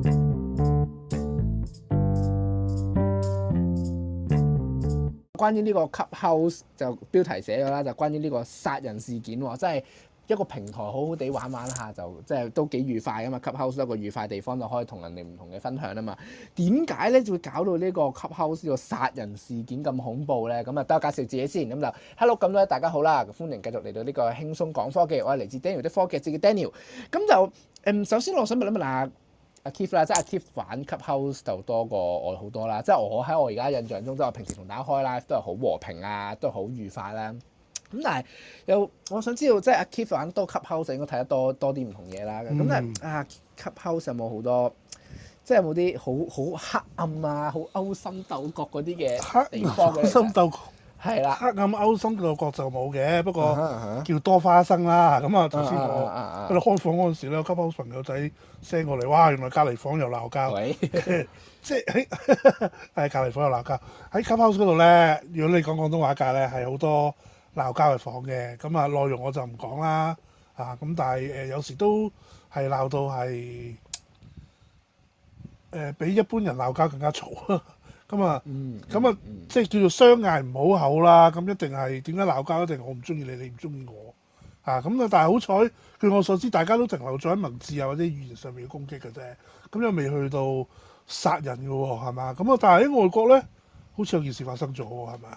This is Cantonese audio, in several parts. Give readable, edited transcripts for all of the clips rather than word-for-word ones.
關於呢個 Clubhouse 就標題寫咗啦，就關於呢個殺人事件喎，即係一個平台好好地玩玩下就即係都幾愉快㗎嘛。Clubhouse 一個愉快地方就可以同人哋唔同嘅分享啊嘛。點解咧會搞到呢個 Clubhouse 呢個殺人事件咁恐怖咧？咁啊，等我介紹自己先。咁就 Hello，咁咧大家好啦，歡迎繼續嚟到呢個輕鬆講科技。我係嚟自 Daniel 的科技節嘅 Daniel。咁就首先我想問一問阿 Keith 啦，即係阿 Keith 玩 Clubhouse 就多過我好多啦。即係我喺我而家印象中，即係我平時同大家開 live 都係好和平啊，都係好愉快啦。咁但係又我想知道，即係阿 Keith 玩多 Clubhouse 應該睇得多啲唔同嘢啦。咁但係啊 Clubhouse 有冇好多即係有冇啲好黑暗啊、好勾心鬥角嗰啲嘅地方嘅？ 勾心鬥角係啦， 黑暗勾心鬥角就冇嘅，不過叫多花生啦。咁啊頭先我喺度開房嗰陣時咧，Clubhouse朋友仔 send 過嚟，哇！原來隔離房又鬧交，即係喺隔離房又鬧交。喺 Clubhouse 嗰度咧，如果你講廣東話界咧，係好多鬧交嘅房嘅。咁啊內容我就唔講啦。咁但係有時都係鬧到係比一般人鬧交更加嘈。咁啊，即係叫做相嗌唔好口啦。咁一定係點解鬧交？一定我唔中意你，你唔中意我咁啊！但係好彩，據我所知，大家都停留咗喺文字啊或者語言上面嘅攻擊嘅啫。咁又未去到殺人嘅喎，係嘛？咁啊，但係喺外國咧，好似有件事發生咗喎，係咪啊？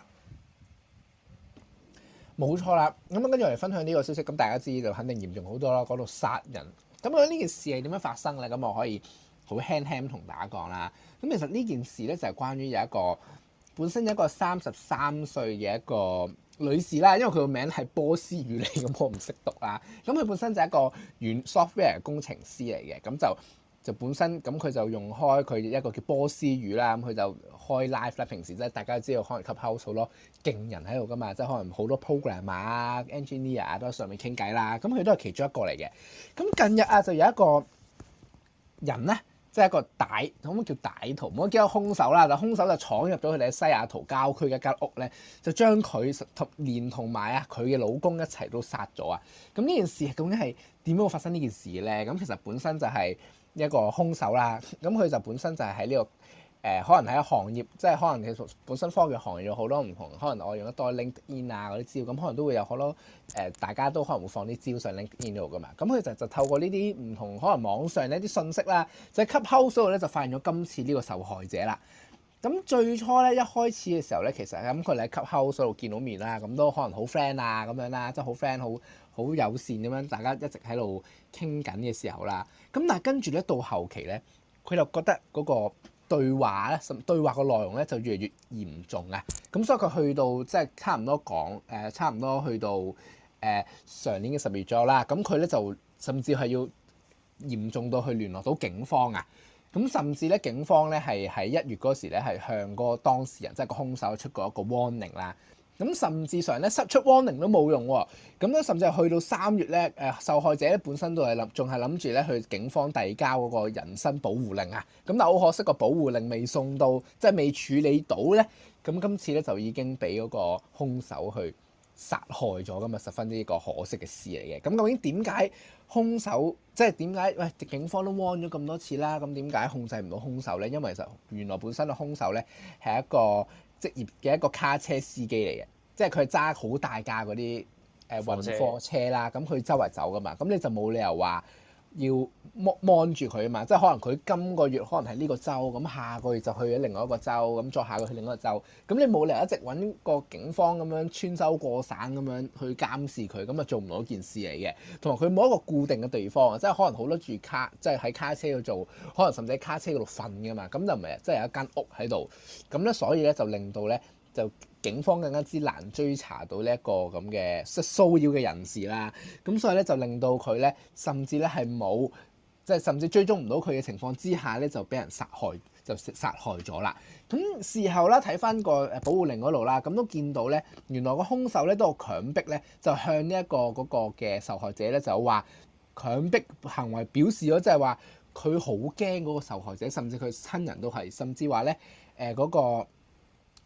冇錯啦。咁跟住我嚟分享呢個消息，咁大家知就肯定嚴重好多啦。講到殺人，咁究竟呢件事係點樣發生咧？咁我可以好輕輕同大家講啦。咁其實呢件事咧就係關於有一個本身有一個33歲嘅一個女士啦，因為佢個名係波斯語嚟，咁我唔識讀啦。咁佢本身就係一個software 工程師嚟嘅，咁就本身咁佢就用開佢一個叫波斯語啦，咁佢就開 live 啦。平時即係大家都知道，可能 Clubhouse 好多勁人喺度噶嘛，即係可能好多 programmer 啊、engineer 啊都喺上面傾偈啦。咁佢都係其中一個嚟嘅。咁近日啊，就有一個人咧。即係一個可唔可以叫歹徒？唔可以叫個兇手啦。就兇手就闖入咗佢哋喺西雅圖郊區嘅一間屋咧，就將佢連同埋佢嘅老公一齊都殺咗啊！咁呢件事究竟係點樣會發生呢件事咧？咁其實本身就係一個兇手啦。咁佢就本身就係喺呢個可能喺行業，即係可能其實本身科技行業有好多唔同，可能我用得多 LinkedIn 啊嗰啲資料，咁可能都會有好多大家都可能會放啲資料上 LinkedIn 度噶嘛。咁佢就透過呢啲唔同可能網上呢啲信息啦，就喺 Clubhouse 度咧就發現咗今次呢個受害者啦。咁最初咧一開始嘅時候咧，其實咁佢哋喺 Clubhouse 度見到面啦，咁都可能好 friend 啊咁樣啦，即係好 friend 好友善咁樣，大家一直喺度傾緊嘅時候啦。咁但係跟住咧到後期咧，佢就覺得嗰個對話咧，對話個內容咧就越嚟越嚴重啊！咁所以佢去到即係差唔多去到上年嘅10月左右啦。咁佢咧就甚至係要嚴重到去聯絡到警方啊！咁甚至咧警方咧係喺1月嗰時咧係向嗰個當事人即係個兇手出過一個 warning 啦。咁甚至上咧出 warning 都冇用喎，咁咧甚至係去到3月咧，受害者咧本身都係仲係諗住咧去警方遞交嗰個人身保護令啊，咁但係好可惜個保護令未送到，即係未處理到咧，咁今次咧就已經俾嗰個兇手去殺害咗，咁啊十分之一個可惜嘅事嚟嘅。咁究竟點解兇手即係點解警方都 warn 咗咁多次啦，咁點解控制唔到兇手咧？因為其實原來本身嘅兇手咧係一個職業嘅一個卡車司機嚟嘅，即係佢揸好大架嗰啲運貨車啦，咁佢周圍走噶嘛，咁你就冇理由話要望住佢啊嘛，即係可能佢今個月可能係呢個州，咁下個月就去咗另外一個州，咁再下個月去另外一個州，咁你冇理由一直揾個警方咁樣穿州過省咁樣去監視佢，咁啊做唔到一件事嚟嘅。同埋佢冇一個固定嘅地方啊，即係可能好多住即係喺卡車度做，可能甚至喺卡車嗰度瞓噶嘛，咁就唔係即係有一間屋喺度，咁咧所以咧就令到咧就警方更加之難追查到呢一個咁嘅騷擾嘅人士啦，咁所以咧就令到佢咧甚至咧係冇即係甚至追蹤唔到佢嘅情況之下咧就俾人殺害咗啦。咁事後啦睇翻個保護令嗰度啦，咁都見到咧原來個兇手咧都有強迫咧就向呢一個嗰個嘅受害者咧就話強迫行為表示咗，即係話佢好驚嗰個受害者，甚至佢親人都係，甚至話咧嗰個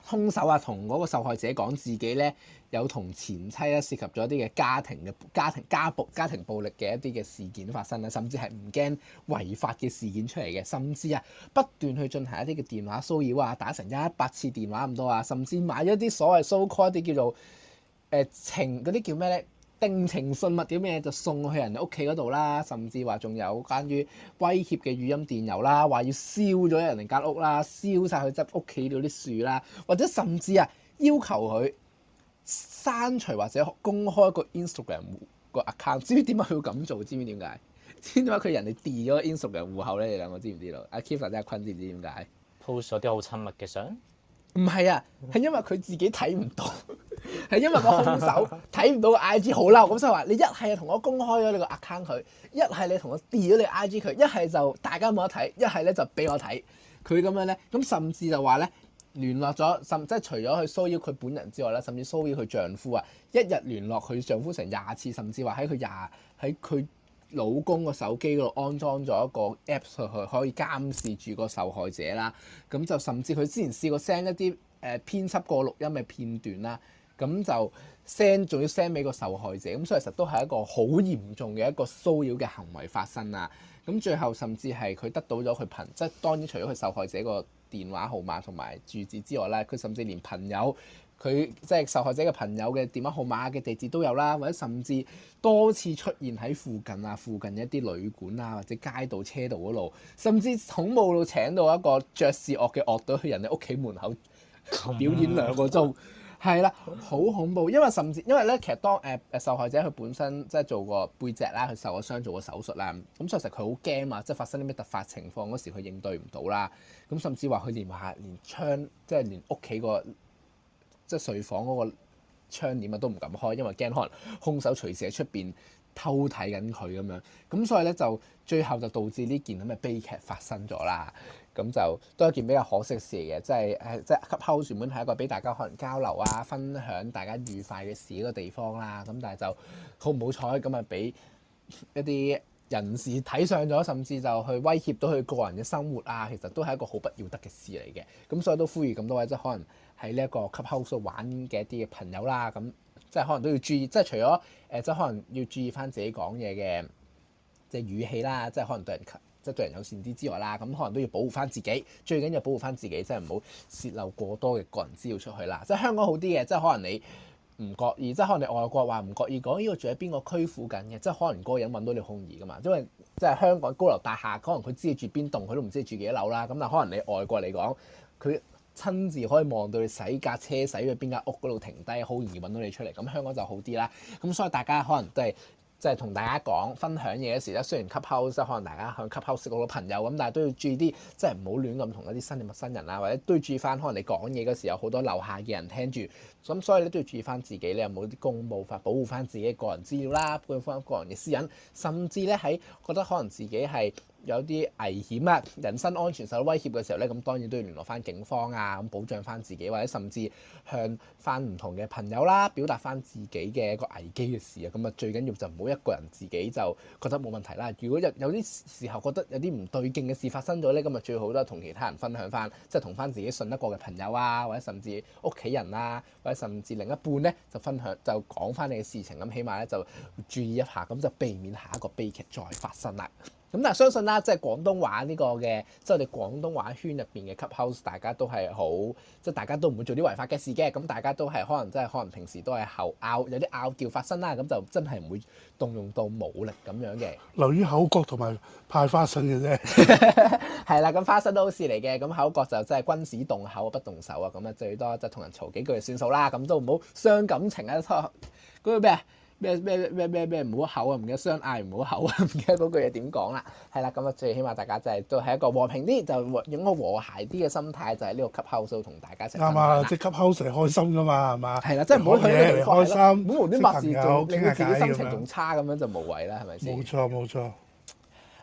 兇手啊同嗰個受害者講自己咧有同前妻咧涉及咗一啲嘅家庭暴力嘅一啲嘅事件發生啦，甚至係唔驚違法嘅事件出嚟嘅，甚至啊不斷去進行一啲嘅電話騷擾啊，打成100次電話咁多啊，甚至買咗啲所謂 so call 一啲叫做情嗰啲叫咩咧？定情信物啲咩就送去人哋屋企嗰度啦，甚至話仲有關於威脅嘅語音電郵啦，話要燒咗人哋間屋啦，燒晒佢執屋企嗰啲樹啦，或者甚至啊要求佢刪除或者公開個 Instagram 個 account。知唔知點解佢要咁做？知唔知點解？知唔知點解佢人哋 delete 咗 Instagram 戶口咧？你兩個知唔知道？阿 Keith 或者阿坤知唔知點解 ？post 咗啲好親密嘅相？ 唔係啊，係因為佢自己睇唔到。係因為個兇手睇唔到個 IG 好嬲，咁所以話你一係同我公開咗你個 account 佢，一係你同我 delete 咗你 IG 佢，一係就大家冇得睇，一係咧就俾我睇佢咁樣咧。咁甚至就話咧聯絡咗，即係除咗去騷擾佢本人之外咧，甚至騷擾佢丈夫啊，一日聯絡佢丈夫成20次，甚至話喺佢老公個手機嗰度安裝咗一個 Apps 去可以監視住個受害者啦。咁就甚至佢之前試過 send 一啲編輯過錄音嘅片段啦。咁就 send 仲要 send 俾個受害者，咁所以其實都係一個好嚴重嘅一個騷擾嘅行為發生啊！咁最後甚至係佢得到咗佢即係當然除咗佢受害者個電話號碼同埋住址之外咧，佢甚至連朋友佢即係受害者嘅朋友嘅電話號碼嘅地址都有啦，或者甚至多次出現喺附近一啲旅館啊或者街道車道嗰度，甚至恐怖到請到一個爵士樂嘅樂隊去人哋屋企門口表演2個鐘。係啦，好恐怖，因為咧，其實當受害者佢本身即係做過背脊啦，佢受咗傷做過手術啦，咁所以其實佢好驚啊，即係發生啲咩突發情況嗰時佢應對唔到啦，咁甚至話佢連窗即係連屋企個即係睡房嗰個窗簾啊都唔敢開，因為驚可能兇手隨時喺出邊偷睇緊佢咁樣，咁所以咧就最後就導致呢件咁嘅悲劇發生咗啦。咁就都係一件比較可惜嘅事嚟嘅，即係 Clubhouse 原本係一個俾大家可能交流啊、分享大家愉快嘅事嗰個地方啦。咁但係就好唔好彩咁啊，俾一啲人士睇上咗，甚至就去威脅到佢個人嘅生活啊。其實都係一個好不要得嘅事嚟嘅。咁所以都呼籲咁多位即係可能喺呢一個 Clubhouse 玩嘅一啲嘅朋友啦，咁即係可能都要注意，即係除咗即係可能要注意翻自己講嘢嘅即係語氣啦，即係可能對人友善啲之外啦，咁可能都要保護翻自己，最緊要保護翻自己，即係唔好洩漏過多嘅個人資料出去啦。即係香港好啲嘅，即係可能你唔覺意，即係可能你外國話唔覺意講呢個住喺邊個區附近嘅，即係可能嗰個人揾到你好容易噶嘛。因為即係香港高樓大廈，可能佢知你住邊棟，佢都唔知你住幾多樓啦。咁但係可能你外國嚟講，佢親自可以望到你洗架車洗去邊間屋嗰度停低，好容易揾到你出嚟。咁香港就好啲啦。咁所以大家可能都係。即係同大家講分享嘢嘅時咧，雖然 Clubhouse 可能大家向 Clubhouse 識好多朋友咁，但係都要注意啲，即係唔好亂咁同一啲新嘅陌生人啊，或者都要注意翻，可能你講嘢嗰時有好多樓下嘅人聽住，咁所以咧都要注意翻自己咧有冇啲公務法保護翻自己個人資料啦，保護翻個人嘅私隱，甚至咧喺覺得可能自己係有啲危險啊，人身安全受到威脅嘅時候咧，咁當然都要聯絡翻警方啊，咁保障翻自己，或者甚至向翻唔同嘅朋友啦，表達翻自己嘅一個危機嘅事啊，咁啊最緊要就唔好一個人自己就覺得冇問題啦。如果有啲時候覺得有啲唔對勁嘅事發生咗咧，咁啊最好都係同其他人分享翻，即係同翻自己信得過嘅朋友啊，或者甚至屋企人啊，或者甚至另一半咧就分享就講翻你嘅事情，咁起碼咧就注意一下，咁就避免下一個悲劇再發生啦。咁但係相信啦，即係廣東話呢個嘅，即係我哋廣東話圈入邊嘅 Clubhouse，大家都係好，即係大家都唔會做啲違法嘅事嘅。咁大家都係可能平時都係有啲拗撬發生啦，咁就真係唔會動用到武力咁樣嘅。 留於口角同埋派花生嘅啫。 係啦，咁花生都好事嚟嘅。咁口角就真係君子動口不動手啊。咁啊最多就同人嘈幾句就算數啦。咁都唔好傷感情啊。嗰個咩啊？咩唔好口啊，唔記得相嗌唔好口啊，唔記得嗰句嘢點講啦。係啦，咁啊最起碼大家就係都係一個和平啲，就用個和諧啲嘅心態，就喺呢個 Clubhouse同大家一齊。啱啊，即係 Clubhouse係開心噶嘛，係嘛？ 係啦，即係唔好去呢個地方開心， 唔好無端白事做，令到自己心情咁仲差咁樣就無謂啦，係咪先？ 冇錯。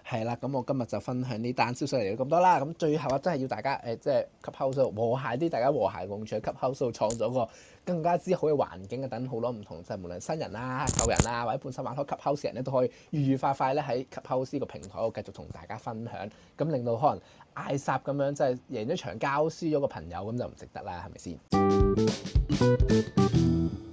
係啦，咁我今日就分享呢單消息嚟到咁多啦。咁最後啊，真係要大家即係 Clubhouse 和諧啲，大家和諧共處喺 Clubhouse 創造個更加之好嘅環境啊！等好多唔同即係無論新人啊、舊人啊，或者本身玩開 Clubhouse 人咧，都可以愉愉快快咧喺 Clubhouse 呢個平台度繼續同大家分享，咁令到可能嗌霎咁樣即係贏咗場交，輸咗個朋友咁就唔值得啦，係咪先？